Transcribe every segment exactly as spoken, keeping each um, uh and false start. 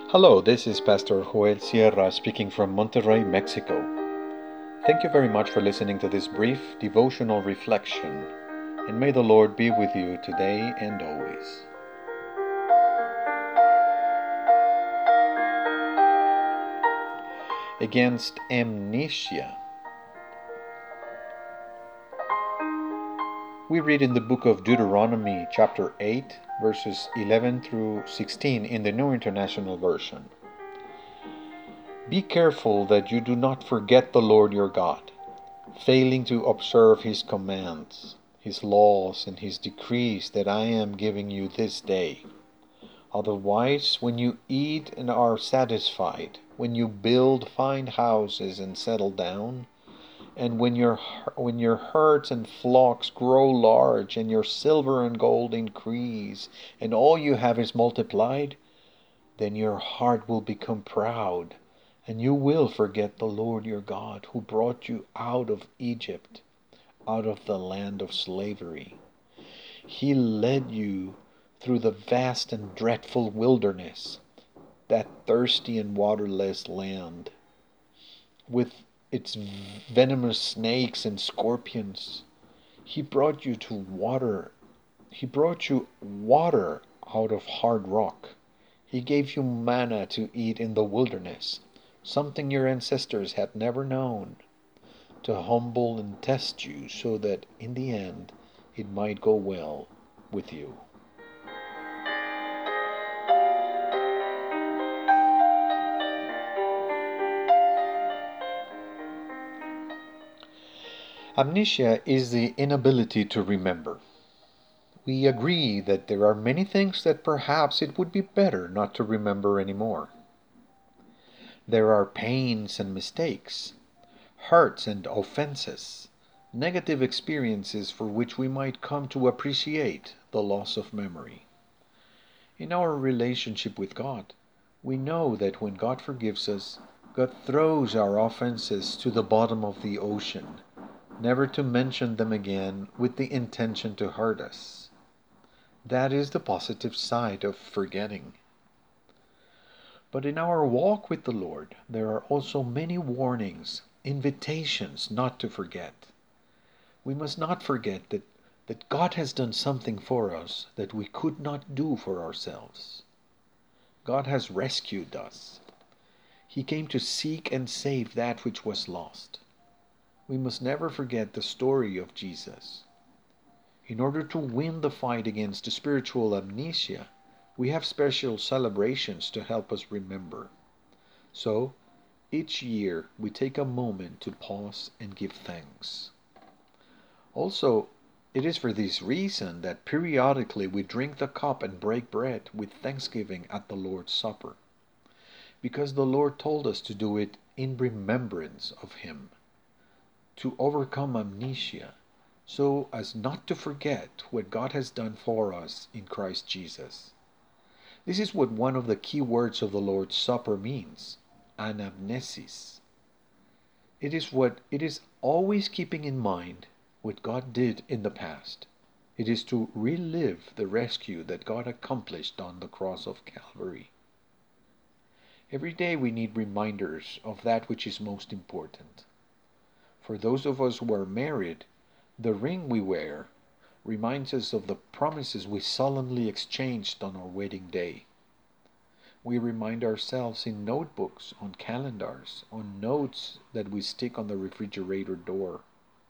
Hello, this is Pastor Joel Sierra speaking from Monterrey, Mexico. Thank you very much for listening to this brief devotional reflection, and may the Lord be with you today and always. Against amnesia. We read in the book of Deuteronomy, chapter eight, verses eleven through sixteen in the New International Version. Be careful that you do not forget the Lord your God, failing to observe his commands, his laws, and his decrees that I am giving you this day. Otherwise, when you eat and are satisfied, when you build fine houses and settle down, and when your when your herds and flocks grow large, and your silver and gold increase, and all you have is multiplied, then your heart will become proud, and you will forget the Lord your God, who brought you out of Egypt, out of the land of slavery. He led you through the vast and dreadful wilderness, that thirsty and waterless land, with its venomous snakes and scorpions. He brought you to water. He brought you water out of hard rock. He gave you manna to eat in the wilderness, something your ancestors had never known, to humble and test you so that in the end it might go well with you. Amnesia is the inability to remember. We agree that there are many things that perhaps it would be better not to remember anymore. There are pains and mistakes, hurts and offenses, negative experiences for which we might come to appreciate the loss of memory. In our relationship with God, we know that when God forgives us, God throws our offenses to the bottom of the ocean, never to mention them again with the intention to hurt us. That is the positive side of forgetting. But in our walk with the Lord, there are also many warnings, invitations not to forget. We must not forget that, that God has done something for us that we could not do for ourselves. God has rescued us. He came to seek and save that which was lost. We must never forget the story of Jesus. In order to win the fight against spiritual amnesia, we have special celebrations to help us remember. So, each year we take a moment to pause and give thanks. Also, it is for this reason that periodically we drink the cup and break bread with thanksgiving at the Lord's Supper, because the Lord told us to do it in remembrance of Him, to overcome amnesia, so as not to forget what God has done for us in Christ Jesus. This is what one of the key words of the Lord's Supper means, anamnesis. It is what it is always keeping in mind what God did in the past. It is to relive the rescue that God accomplished on the cross of Calvary. Every day we need reminders of that which is most important. For those of us who are married, the ring we wear reminds us of the promises we solemnly exchanged on our wedding day. We remind ourselves in notebooks, on calendars, on notes that we stick on the refrigerator door.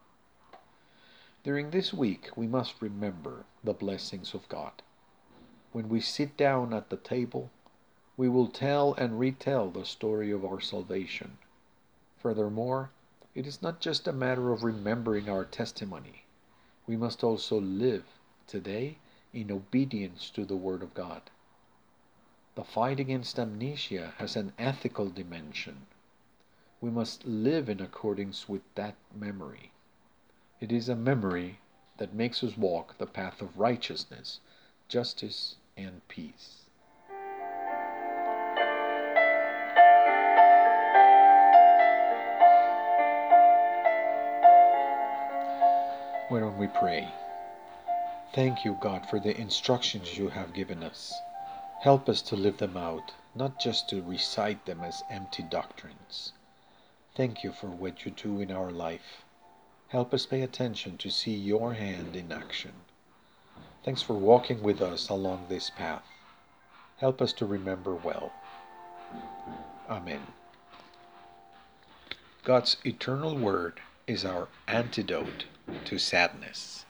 During this week, we must remember the blessings of God. When we sit down at the table, we will tell and retell the story of our salvation. Furthermore, it is not just a matter of remembering our testimony. We must also live today in obedience to the Word of God. The fight against amnesia has an ethical dimension. We must live in accordance with that memory. It is a memory that makes us walk the path of righteousness, justice, and peace. Why don't we pray? Thank you, God, for the instructions you have given us. Help us to live them out not just to recite them as empty doctrines. Thank you for what you do in our life. Help us pay attention to see your hand in action. Thanks for walking with us along this path. Help us to remember well. Amen. God's eternal word is our antidote to sadness.